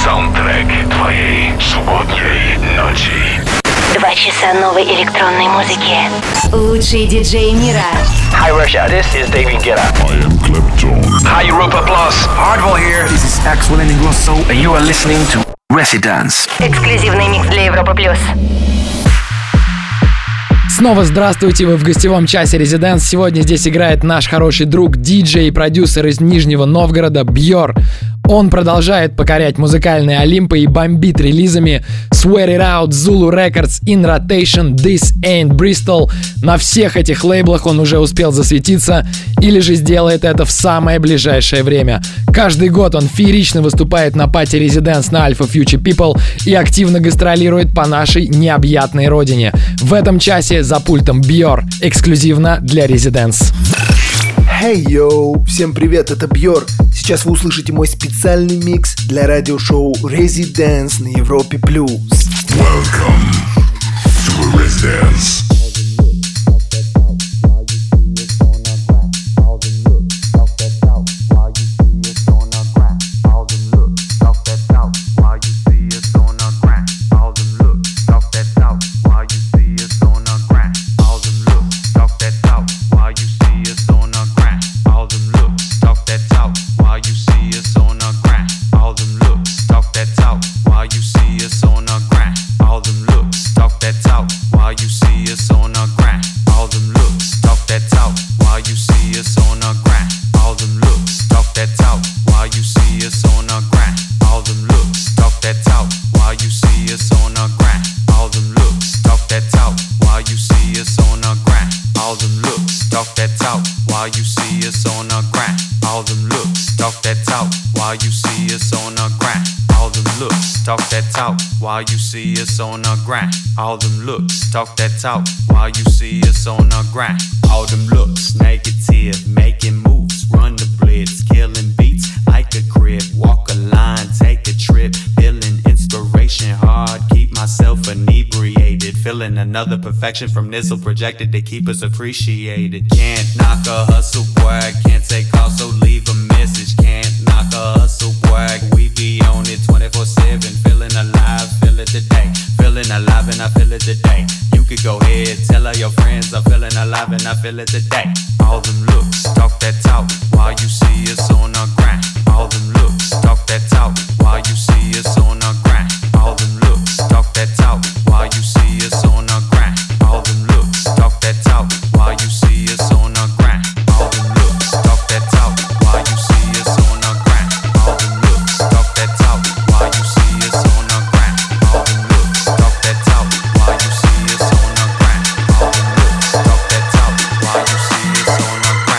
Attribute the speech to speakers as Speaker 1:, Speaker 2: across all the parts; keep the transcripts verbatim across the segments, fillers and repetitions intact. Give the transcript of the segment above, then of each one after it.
Speaker 1: Саундтрек твоей субботней ночи.
Speaker 2: Два часа новой электронной музыки. Лучшие диджеи мира.
Speaker 3: Hi Russia, this is David Guetta.
Speaker 1: I am Clapton.
Speaker 3: Hi Europa Plus. Hardwell here.
Speaker 4: This is Axel Ingrosso,
Speaker 3: And you are listening to Residence.
Speaker 2: Эксклюзивный микс для Европы плюс.
Speaker 5: Снова здравствуйте, вы в гостевом часе Residence. Сегодня здесь играет наш хороший друг, диджей и продюсер из Нижнего Новгорода Бьор. Он продолжает покорять музыкальные Олимпы и бомбит релизами Swear It Out, Zulu Records, In Rotation, This Ain't Bristol. На всех этих лейблах он уже успел засветиться или же сделает это в самое ближайшее время. Каждый год он феерично выступает на пати Residence на Alpha Future People и активно гастролирует по нашей необъятной родине. В этом часе за пультом Бьор, эксклюзивно для Residence.
Speaker 6: Hey, yo! Всем привет, это Бьор. Сейчас вы услышите мой специальный микс для радиошоу Residence на Европе плюс.
Speaker 1: Welcome to Residence.
Speaker 7: While you see us on our grind, all them looks, talk that talk. While you see us on our grind, all them looks, negative, making moves, run the blitz, killing beats like a crib. Walk a line, take a trip, feeling inspiration hard. Keep myself inebriated, feeling another perfection from Nizzle projected to keep us appreciated. Can't knock a hustle, boy, can't take calls, so leave a message. Can't knock a hustle, boy, we be on it twenty-four seven, feeling alive. Feel it today, feeling alive and I feel it today. You could go ahead, tell all your friends I'm feeling alive and I feel it today. All them looks, talk that talk, while you see us on our grind. All them looks, talk that talk, while you see us on our grind. All them looks, talk that talk, while you see us on our grind. All them looks, talk that talk, while you see us on our grind. All them looks, talk that talk, while you see us on our grind. All them looks, talk that talk, while you see us on our grind. All them looks, talk that talk, while you see us on our grind. All them looks, talk that talk, while you see us on our grind.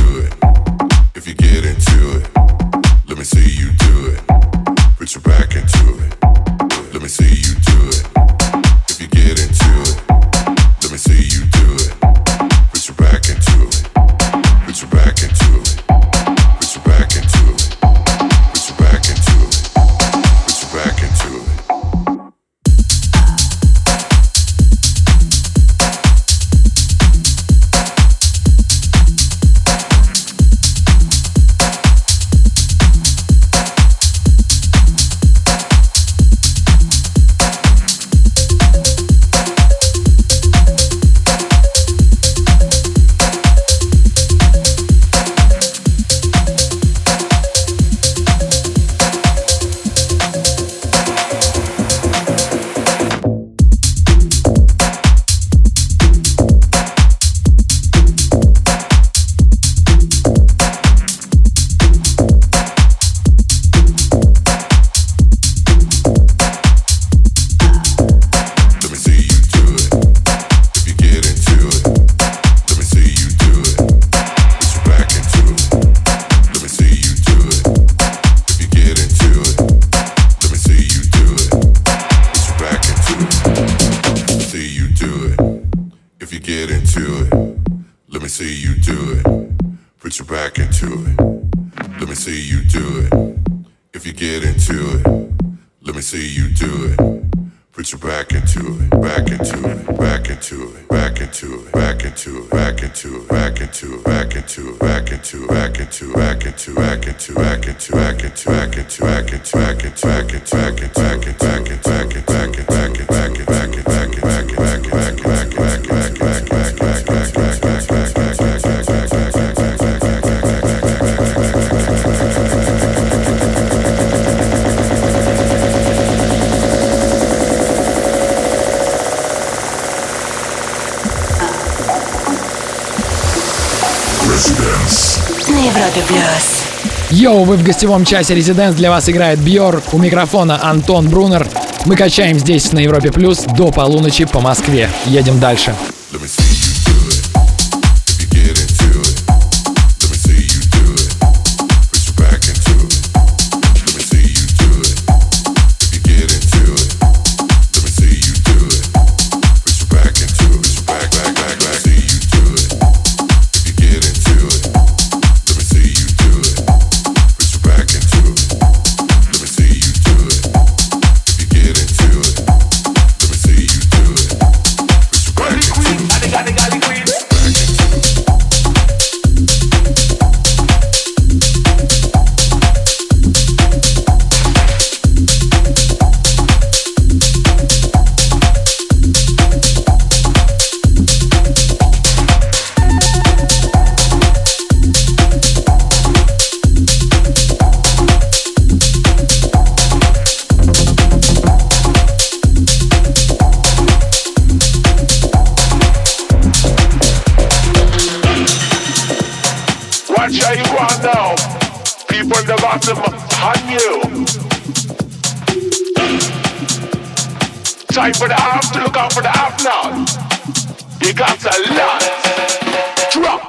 Speaker 1: do it. If you get into it, let me see you do it. Put your back into it. Let me see you do it. If you get into it, let me see you do it. Put your back into it. Put your back into it. Put your back into it. Put your back into it. Put your back into it.
Speaker 5: Йоу, вы в гостевом часе Residence, для вас играет Бьор, у микрофона Антон Брунер. Мы качаем здесь на Европе Плюс до полуночи по Москве. Едем дальше.
Speaker 4: Time for the half to look out for the half now. You got a lot. Drop.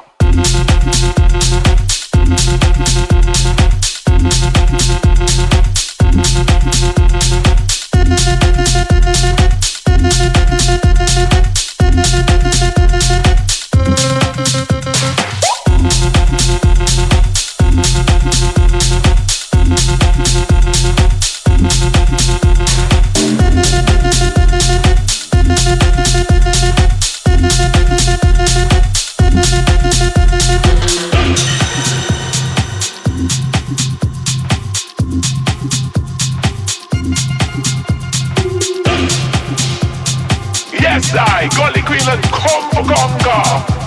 Speaker 4: I, Gully Queen and come for Gonga.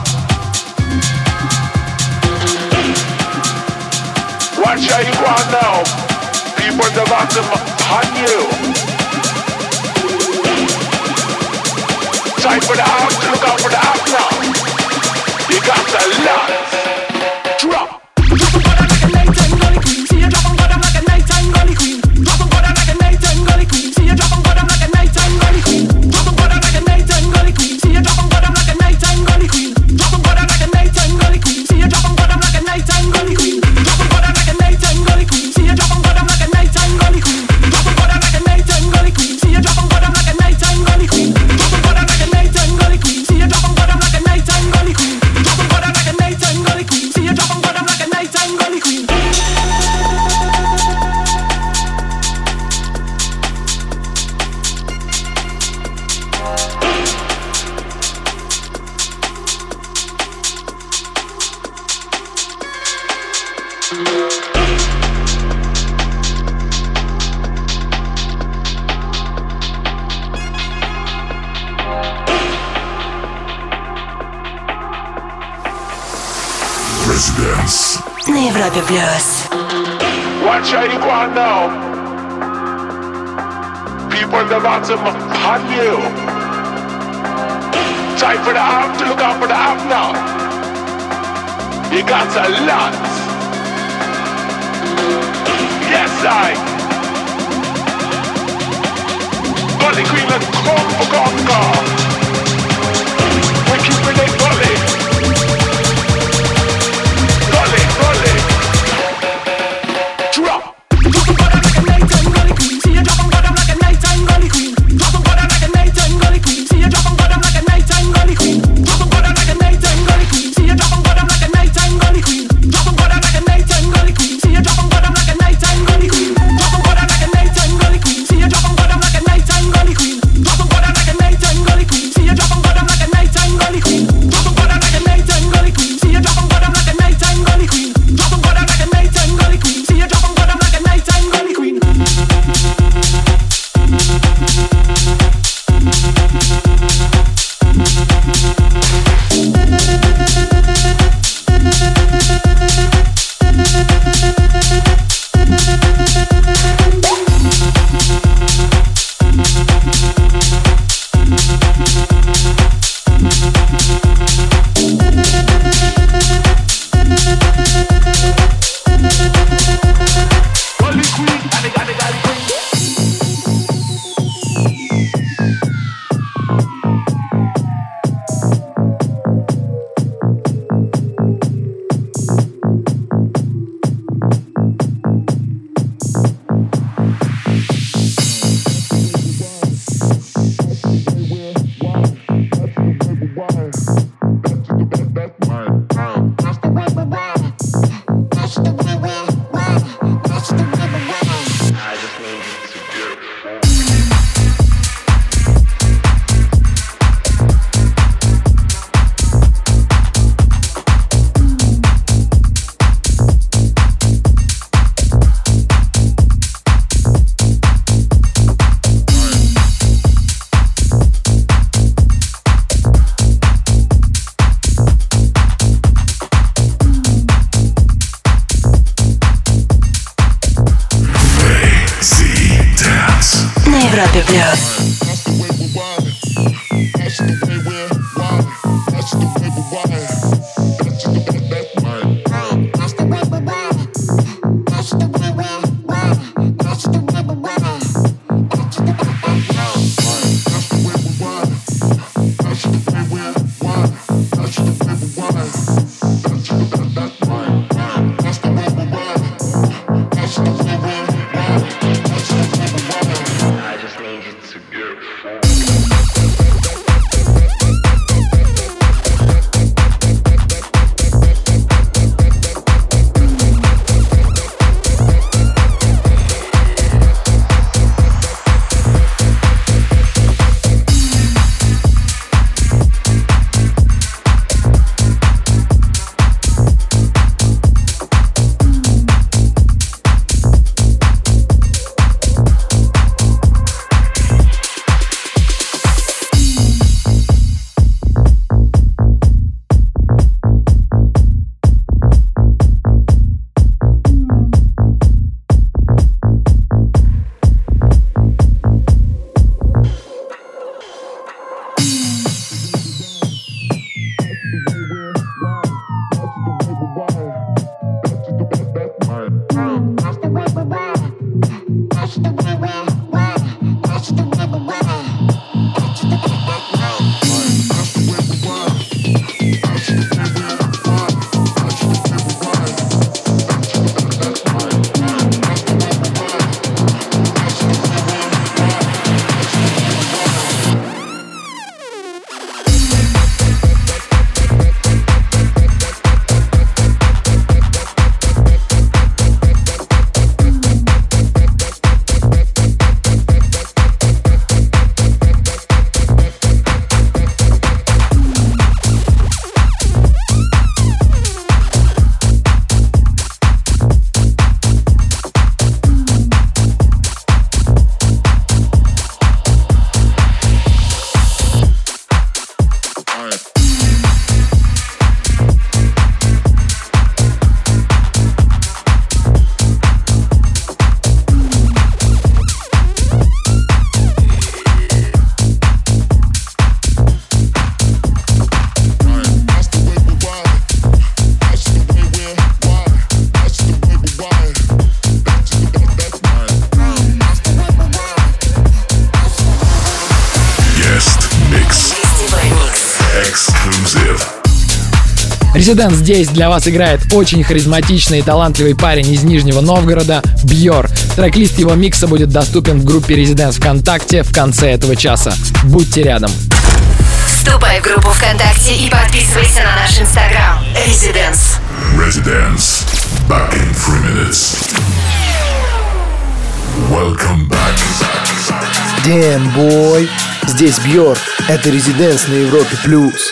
Speaker 4: Watch how you go on now. People the bottom on you. Time for the house to look out for the house now. You got a lot. Drop. Drop on like a nighttime Gully Queen. See you drop on bottom like a nighttime Gully Queen. Drop on bottom like a nighttime Gully Queen. See you drop on bottom like a nighttime Gully Queen. Drop on bottom like a nighttime Gully Queen. See you drop on bottom like a nighttime Gully Queen. Drop on bottom like a nighttime Gully Queen. See you drop on bottom like a
Speaker 1: Residence.
Speaker 2: На Европе плюс.
Speaker 4: Watch how you go on now. People in the bottom upon you. Time for the app to look out for the app now. You got a lot. Yes, I. Gully Queen and come for Gonga. We keep it gully. Gully, gully. Drop.
Speaker 2: Европе плюс.
Speaker 4: I just need you to go.
Speaker 5: Residence здесь для вас играет очень харизматичный и талантливый парень из Нижнего Новгорода Бьор. Трек-лист его микса будет доступен в группе Residence ВКонтакте в конце этого часа. Будьте рядом.
Speaker 2: Вступай в группу ВКонтакте и подписывайся на наш инстаграм Residence.
Speaker 1: Residence. Back in three minutes. Welcome back.
Speaker 6: Damn, boy. Здесь Бьор. Это Residence на Европе Плюс.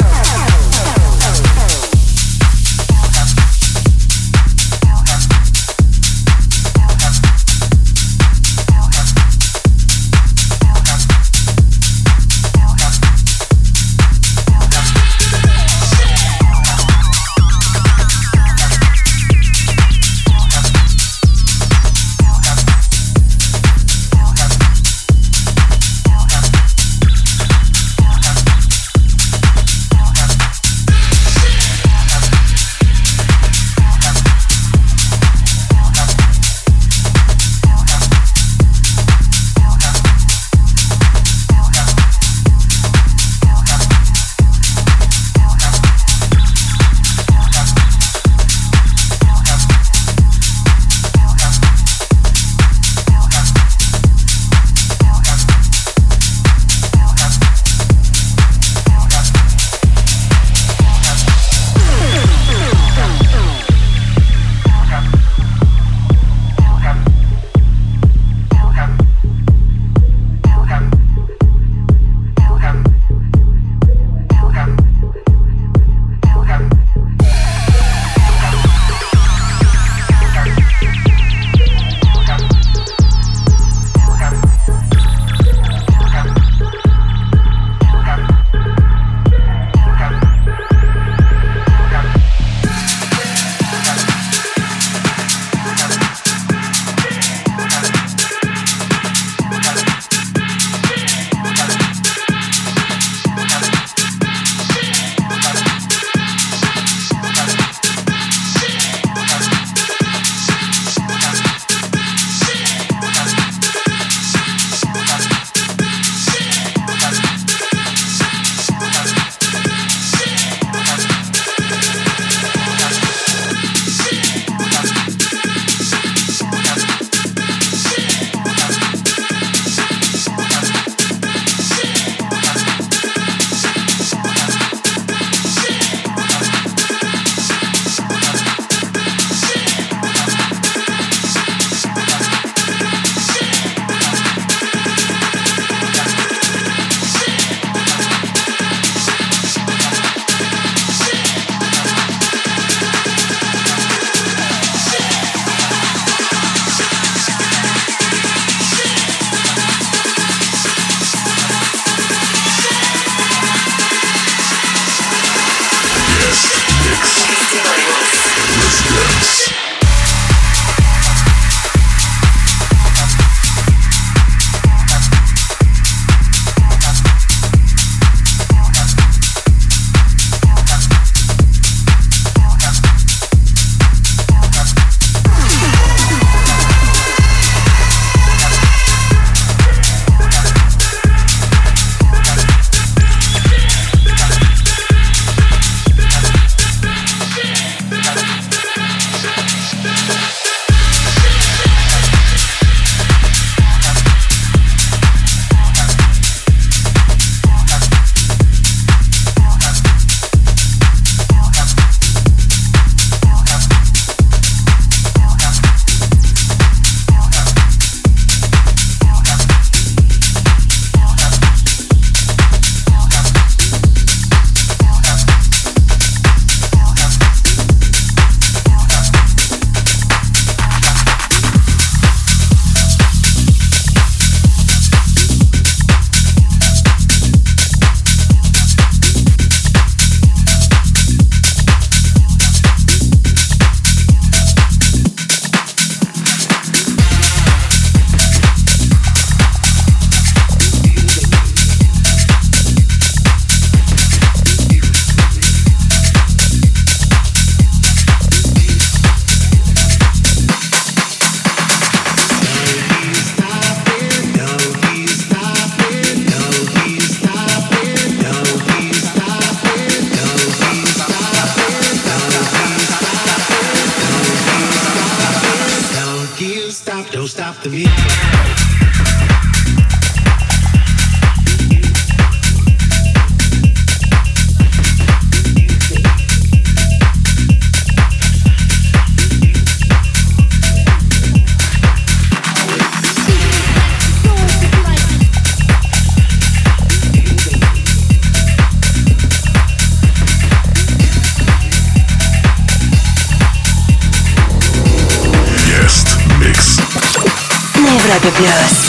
Speaker 8: stop, don't stop the music.
Speaker 2: Европе плюс.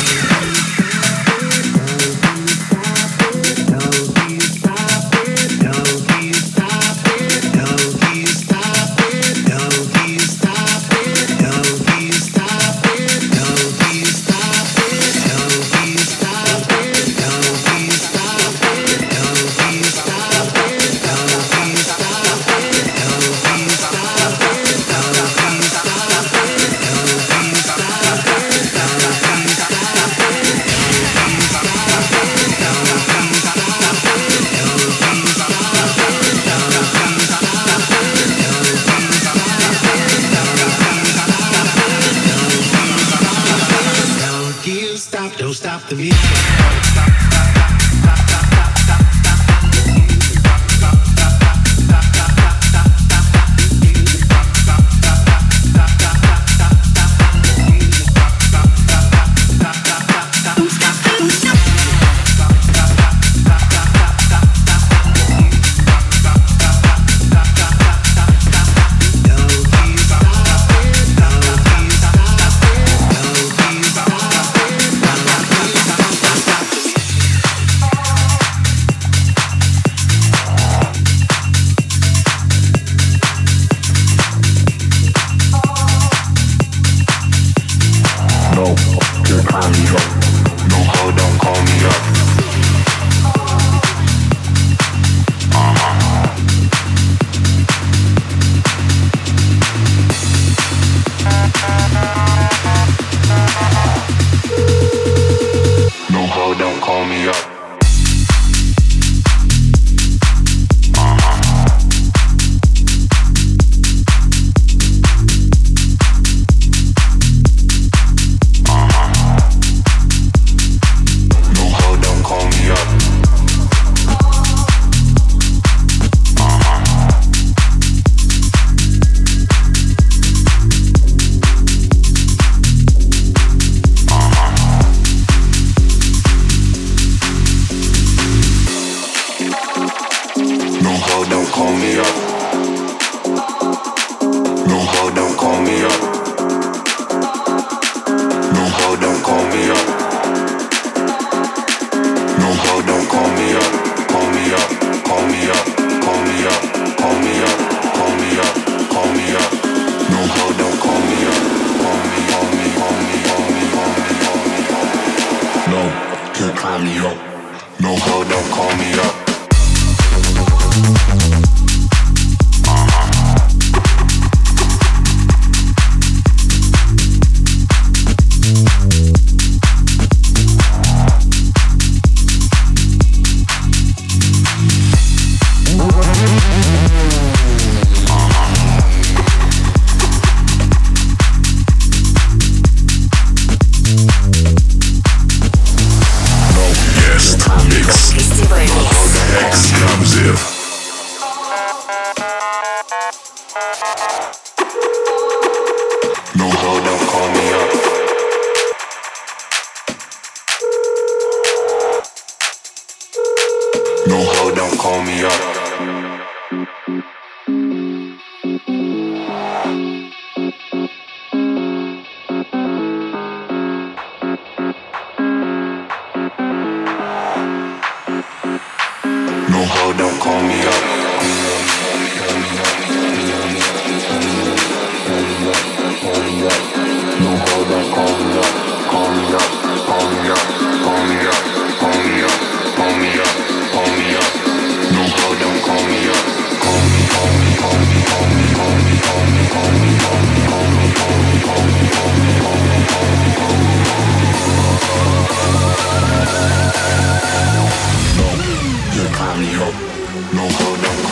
Speaker 1: No, hold on.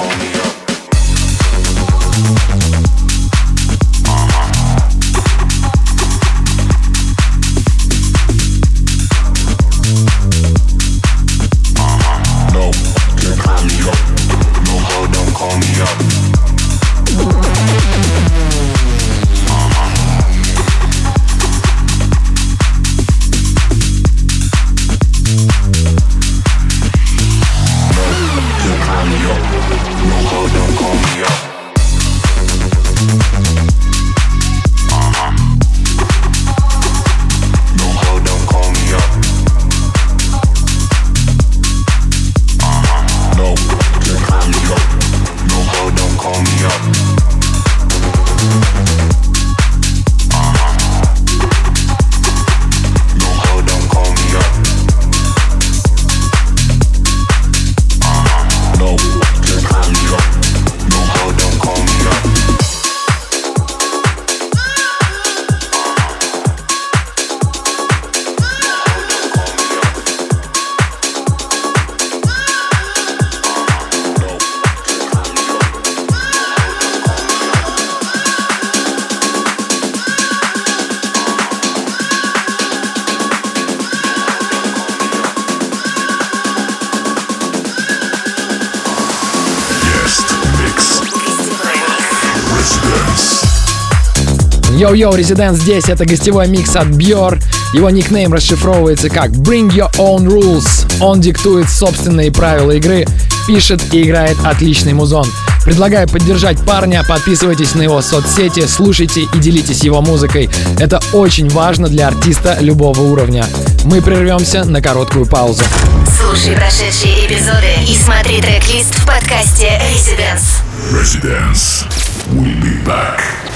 Speaker 5: Йоу-йоу, Residence здесь, это гостевой микс от Bjor. Его никнейм расшифровывается как Bring Your Own Rules. Он диктует собственные правила игры, пишет и играет отличный музон. Предлагаю поддержать парня, подписывайтесь на его соцсети, слушайте и делитесь его музыкой. Это очень важно для артиста любого уровня. Мы прервемся на короткую паузу.
Speaker 2: Слушай прошедшие эпизоды и смотри трек-лист в подкасте Residence.
Speaker 1: Residence. We'll be back.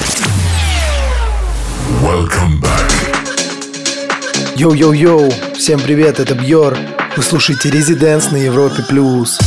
Speaker 1: Welcome back.
Speaker 6: Йоу-йоу-йоу, всем привет, это Бьор. Вы слушаете Residence на Европе плюс.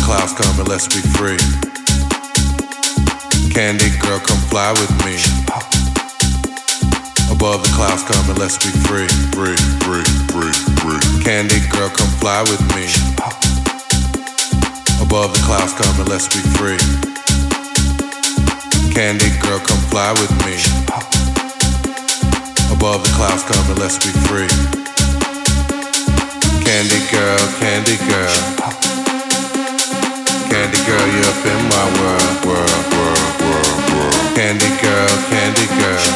Speaker 1: clouds come and let's be free. Candy girl, come fly with me. Above the clouds come and let's be free. Free, free, free, free. Candy girl, come fly with me. Above the clouds come and let's be free. Candy girl, come fly with me. Above the clouds come and let's be free. Candy girl, candy girl. Candy girl, you're up in my world, world, world, world, world. Candy girl, candy girl.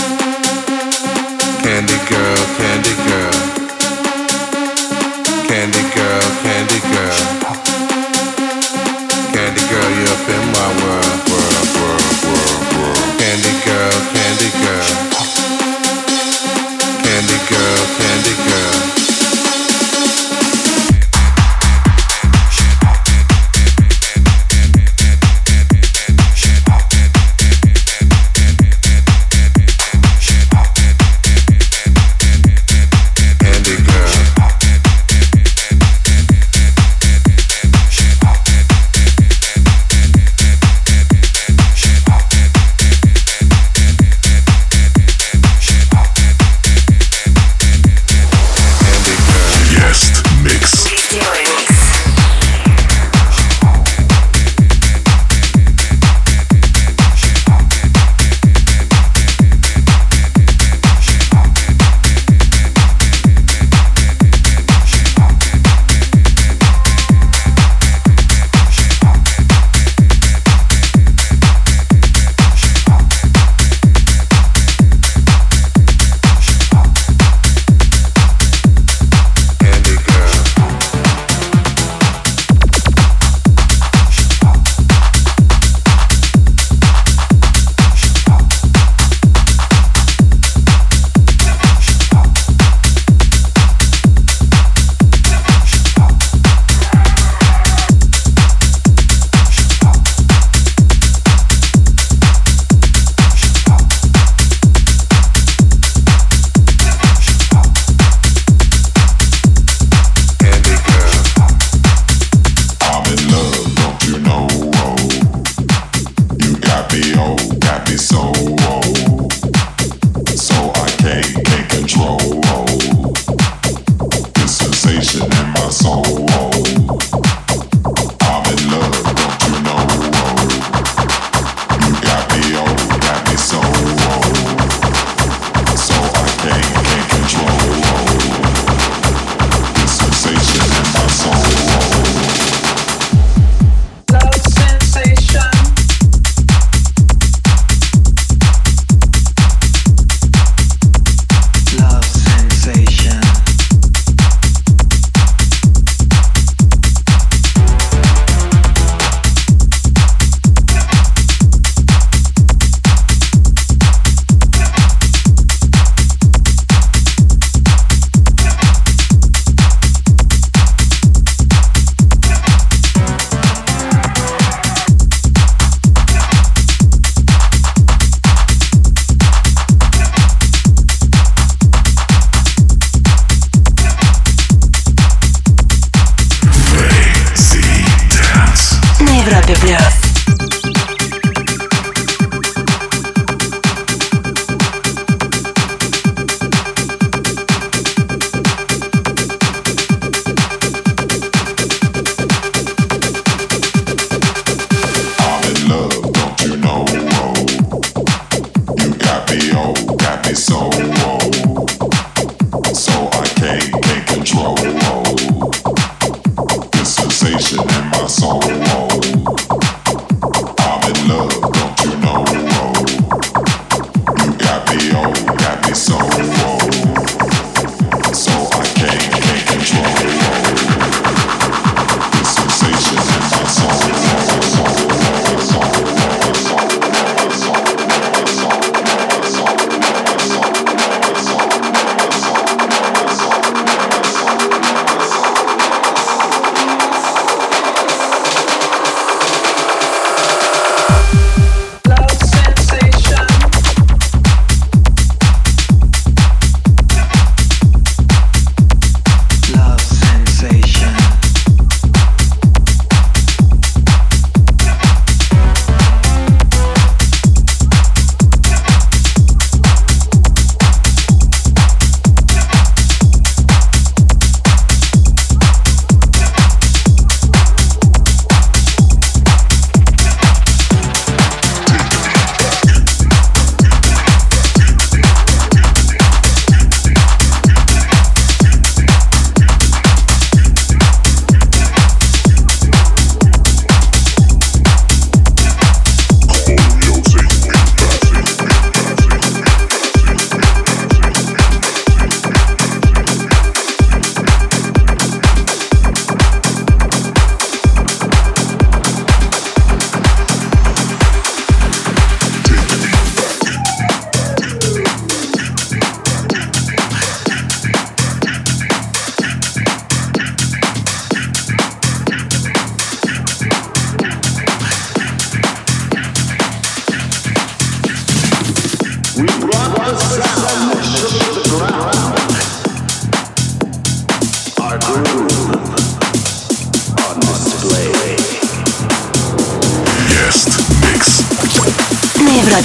Speaker 1: Candy girl, candy girl. Candy girl, candy girl. Candy girl, you're up in my world, world, world, world, world. Candy girl, candy girl. Candy girl, candy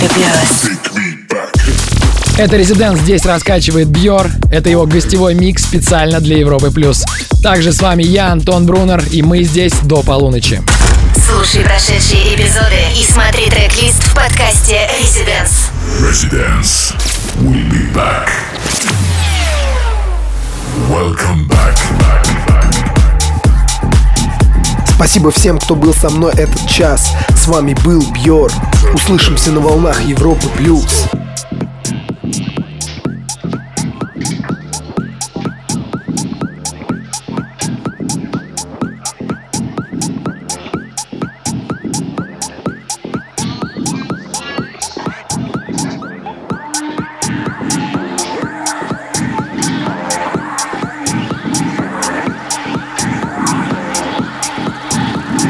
Speaker 2: Европе плюс.
Speaker 5: Это Residence здесь раскачивает Бьор. Это его гостевой микс специально для Европы плюс. Также с вами я, Антон Брунер, и мы здесь до полуночи.
Speaker 2: Слушай прошедшие эпизоды и смотри трек-лист в подкасте Residence.
Speaker 1: Residence. We'll be back. Welcome back. back, back.
Speaker 6: Спасибо всем, кто был со мной этот час. С вами был Бьор. Услышимся на волнах Европы плюс.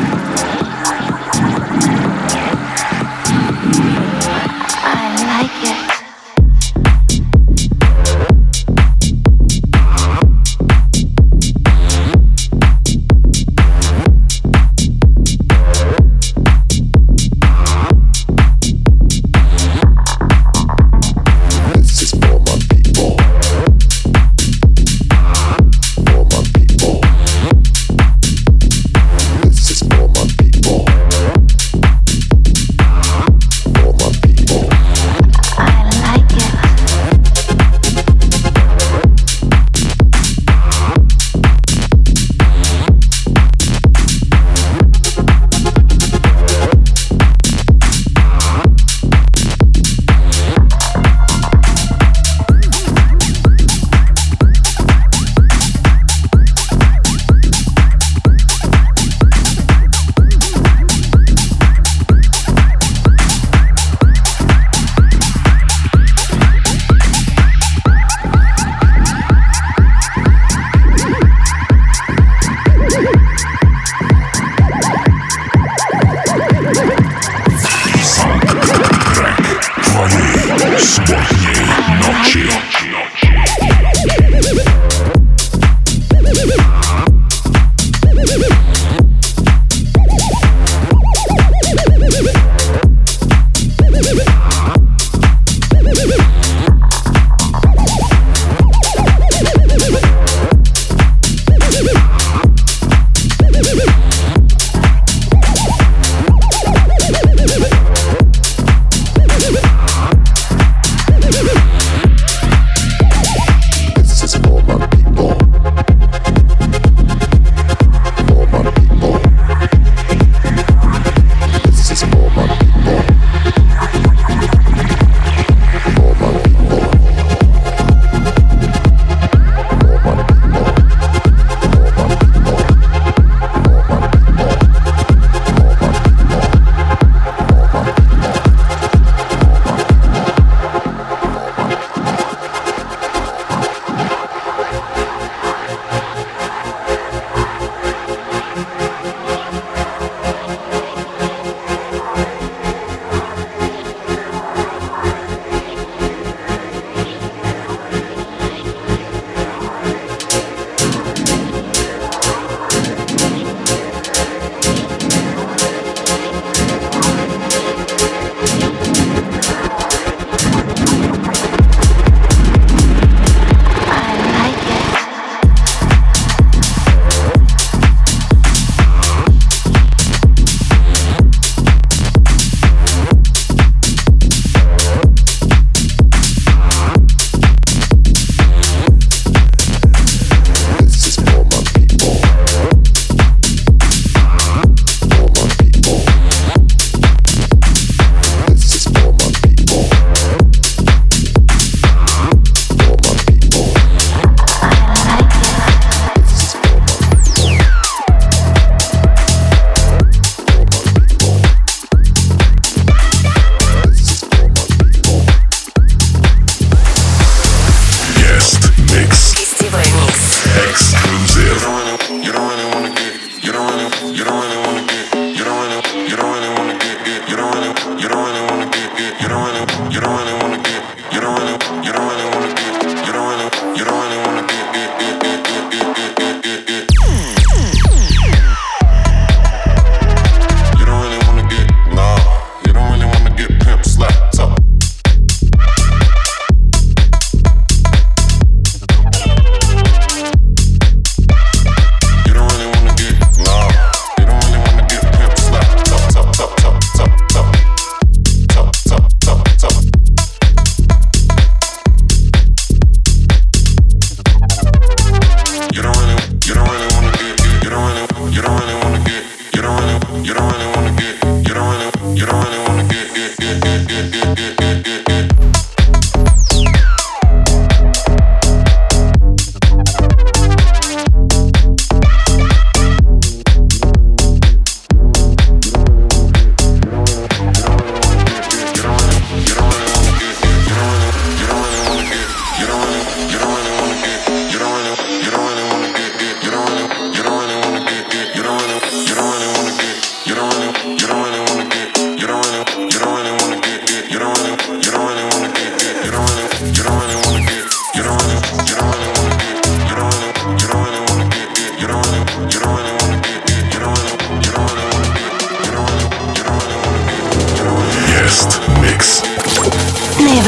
Speaker 8: like it.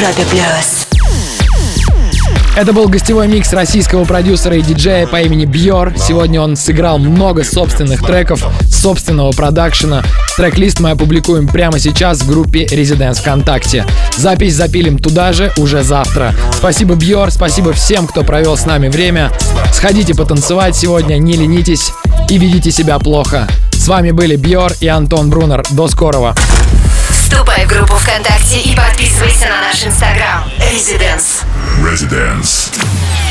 Speaker 2: Европе плюс.
Speaker 5: Это был гостевой микс российского продюсера и диджея по имени Бьор. Сегодня он сыграл много собственных треков, собственного продакшена. Трек-лист мы опубликуем прямо сейчас в группе Residence ВКонтакте. Запись запилим туда же уже завтра. Спасибо, Бьор, спасибо всем, кто провел с нами время. Сходите потанцевать сегодня, не ленитесь и ведите себя плохо. С вами были Бьор и Антон Брунер. До скорого.
Speaker 2: Вступай в группу ВКонтакте и подписывайся на наш инстаграм Residence.
Speaker 1: Residence.